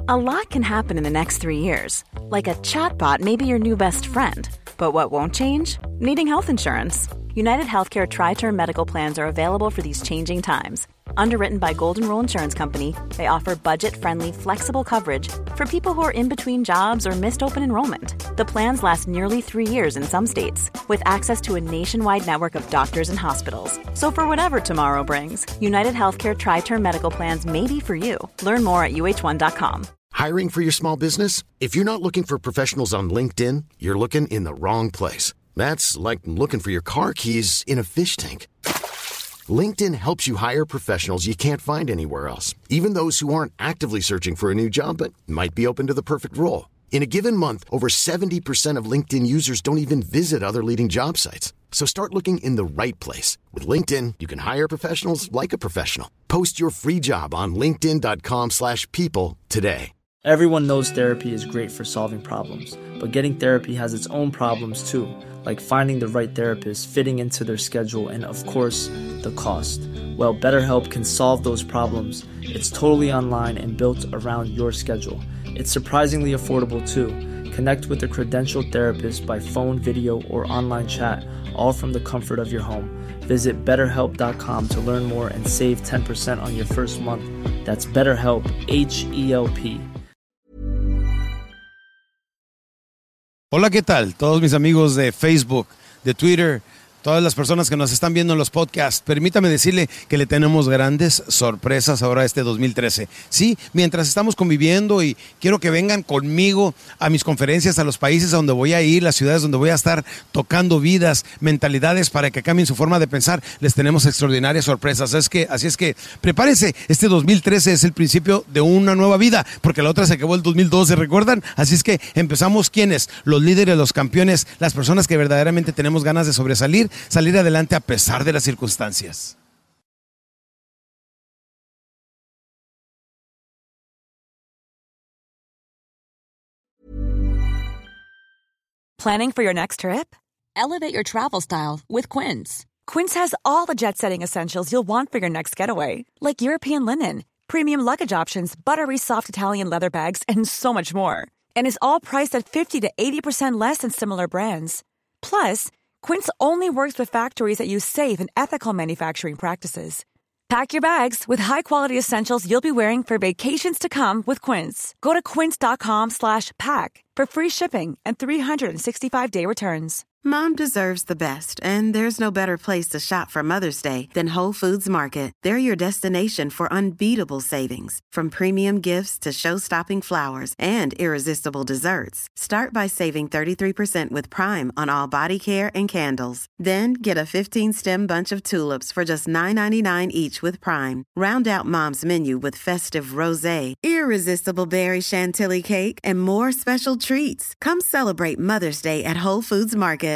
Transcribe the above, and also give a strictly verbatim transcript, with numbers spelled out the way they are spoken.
A lot can happen in the next three years. Like a chatbot may be your new best friend. But what won't change? Needing health insurance. United Healthcare Tri-Term Medical Plans are available for these changing times. Underwritten by Golden Rule Insurance Company, they offer budget-friendly, flexible coverage for people who are in between jobs or missed open enrollment. The plans last nearly three years in some states, with access to a nationwide network of doctors and hospitals. So for whatever tomorrow brings, United Healthcare Tri-Term Medical Plans may be for you. Learn more at U H one dot com. Hiring for your small business? If you're not looking for professionals on LinkedIn, you're looking in the wrong place. That's like looking for your car keys in a fish tank. LinkedIn helps you hire professionals you can't find anywhere else, even those who aren't actively searching for a new job but might be open to the perfect role. In a given month, over seventy percent of LinkedIn users don't even visit other leading job sites. So start looking in the right place. With LinkedIn, you can hire professionals like a professional. Post your free job on linkedin dot com slash people today. Everyone knows therapy is great for solving problems, but getting therapy has its own problems too, like finding the right therapist, fitting into their schedule, and of course, the cost. Well, BetterHelp can solve those problems. It's totally online and built around your schedule. It's surprisingly affordable too. Connect with a credentialed therapist by phone, video, or online chat, all from the comfort of your home. Visit better help dot com to learn more and save ten percent on your first month. That's BetterHelp, H E L P. Hola, ¿qué tal? Todos mis amigos de Facebook, de Twitter, todas las personas que nos están viendo en los podcasts, permítame decirle que le tenemos grandes sorpresas ahora este dos mil trece. Sí, mientras estamos conviviendo y quiero que vengan conmigo a mis conferencias, a los países a donde voy a ir, las ciudades donde voy a estar tocando vidas, mentalidades para que cambien su forma de pensar, les tenemos extraordinarias sorpresas. Es que, así es que prepárense, este dos mil trece es el principio de una nueva vida, porque la otra se acabó el dos mil doce, ¿recuerdan? Así es que empezamos, ¿quiénes? Los líderes, los campeones, las personas que verdaderamente tenemos ganas de sobresalir, salir adelante a pesar de las circunstancias. Planning for your next trip? Elevate your travel style with Quince. Quince has all the jet-setting essentials you'll want for your next getaway, like European linen, premium luggage options, buttery soft Italian leather bags, and so much more. And is all priced at fifty to eighty percent less than similar brands. Plus, Quince only works with factories that use safe and ethical manufacturing practices. Pack your bags with high-quality essentials you'll be wearing for vacations to come with Quince. Go to quince dot com slash pack for free shipping and three sixty-five day returns. Mom deserves the best, and there's no better place to shop for Mother's Day than Whole Foods Market. They're your destination for unbeatable savings, from premium gifts to show-stopping flowers and irresistible desserts. Start by saving thirty-three percent with Prime on all body care and candles. Then get a fifteen-stem bunch of tulips for just nine ninety-nine each with Prime. Round out Mom's menu with festive rosé, irresistible berry chantilly cake, and more special treats. Come celebrate Mother's Day at Whole Foods Market.